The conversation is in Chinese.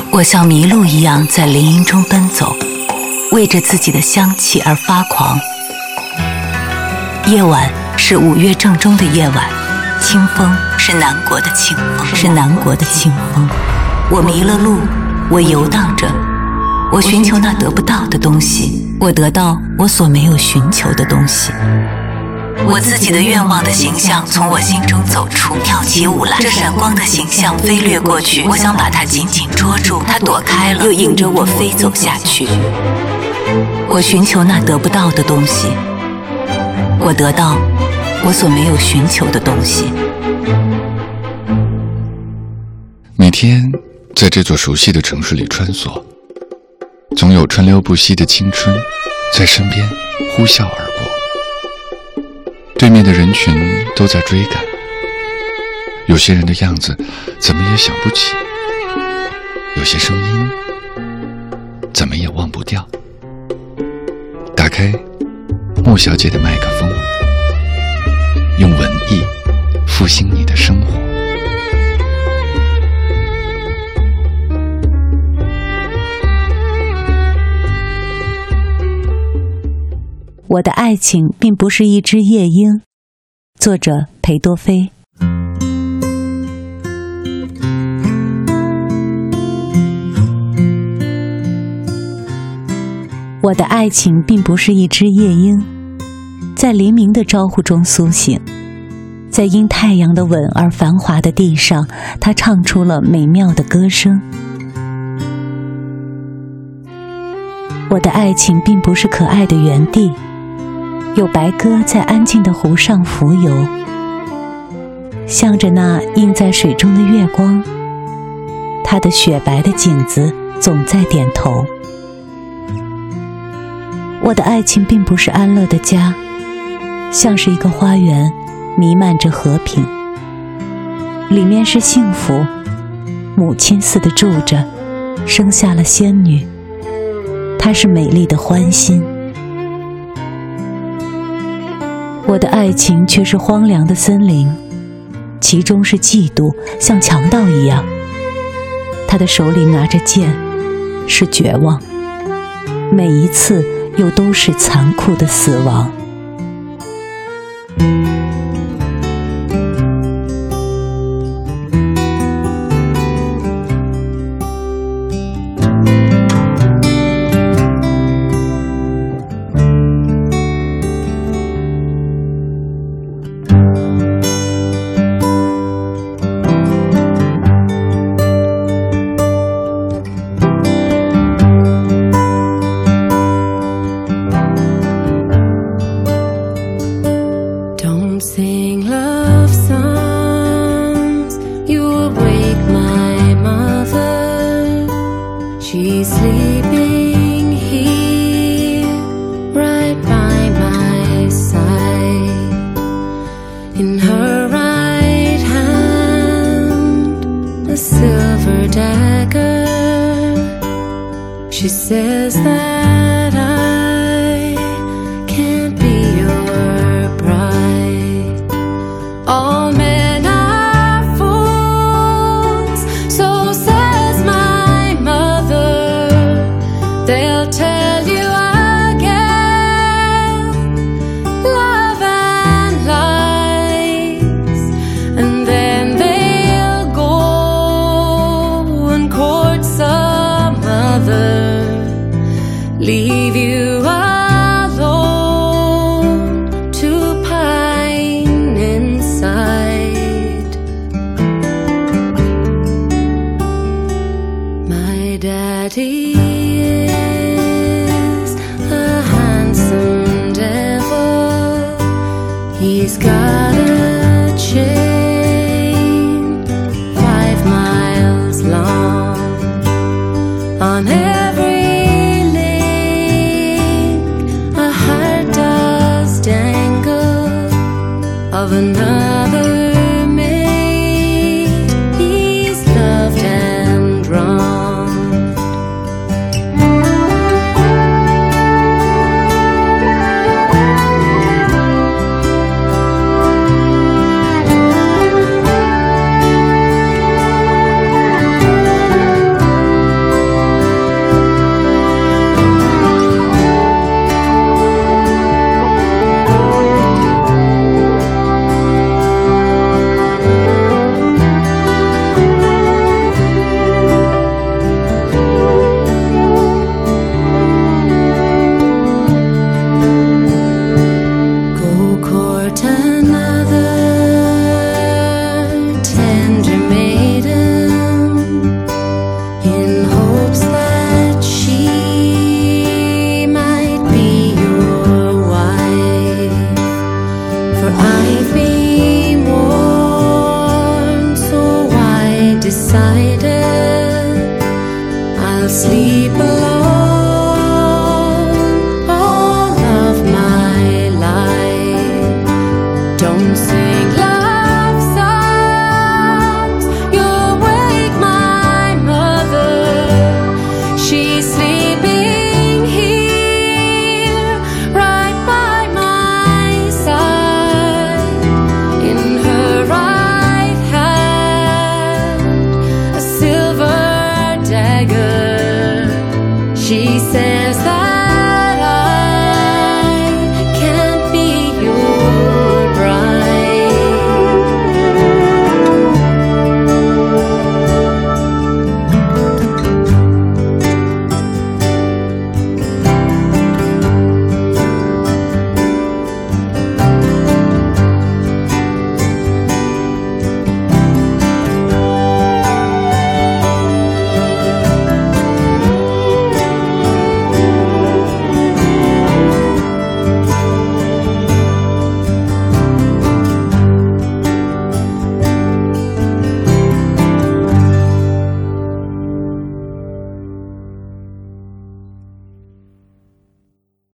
我像麋鹿一样在林荫中奔走，为着自己的香气而发狂。夜晚是5月正中的夜晚，清风是南国的清风，我迷了路，我游荡着，我寻求那得不到的东西，我得到我所没有寻求的东西。我自己的愿望的形象从我心中走出，跳起舞来。这闪光的形象飞掠过去，我想把它紧紧捉住，它躲开了，又引着我飞走下去。我寻求那得不到的东西，我得到我所没有寻求的东西。 每天在这座熟悉的城市里穿梭，总有川流不息的青春在身边呼啸而过。对面的人群都在追赶，有些人的样子怎么也想不起，有些声音怎么也忘不掉。打开莫小姐的麦克风，用文艺复兴你的生活。 我的爱情并不是一只夜莺，作者裴多菲。我的爱情并不是一只夜莺，在黎明的招呼中苏醒，在因太阳的吻而繁华的地上，它唱出了美妙的歌声。我的爱情并不是可爱的园地，有白鸽在安静的湖上浮游，向着那映在水中的月光，它的雪白的颈子总在点头。我的爱情并不是安乐的家，像是一个花园，弥漫着和平，里面是幸福，母亲似的住着，生下了仙女，她是美丽的欢欣。我的爱情却是荒凉的森林，其中是嫉妒，像强盗一样，他的手里拿着剑，是绝望，每一次又都是残酷的死亡。 Sing love songs, you will wake my mother. She's sleeping here, right by my side. In her right hand, a silver dagger. She says that I can't be your bride. All men are fools, so says my mother. They'll tell you again, love and lies, and then they'll go and court some other, leave you alone to pine inside. My daddy is a handsome devil. He's got a chain 5 miles long. On every link a heart does dangle of another mate he's loved and wronged. I'll sleep alone.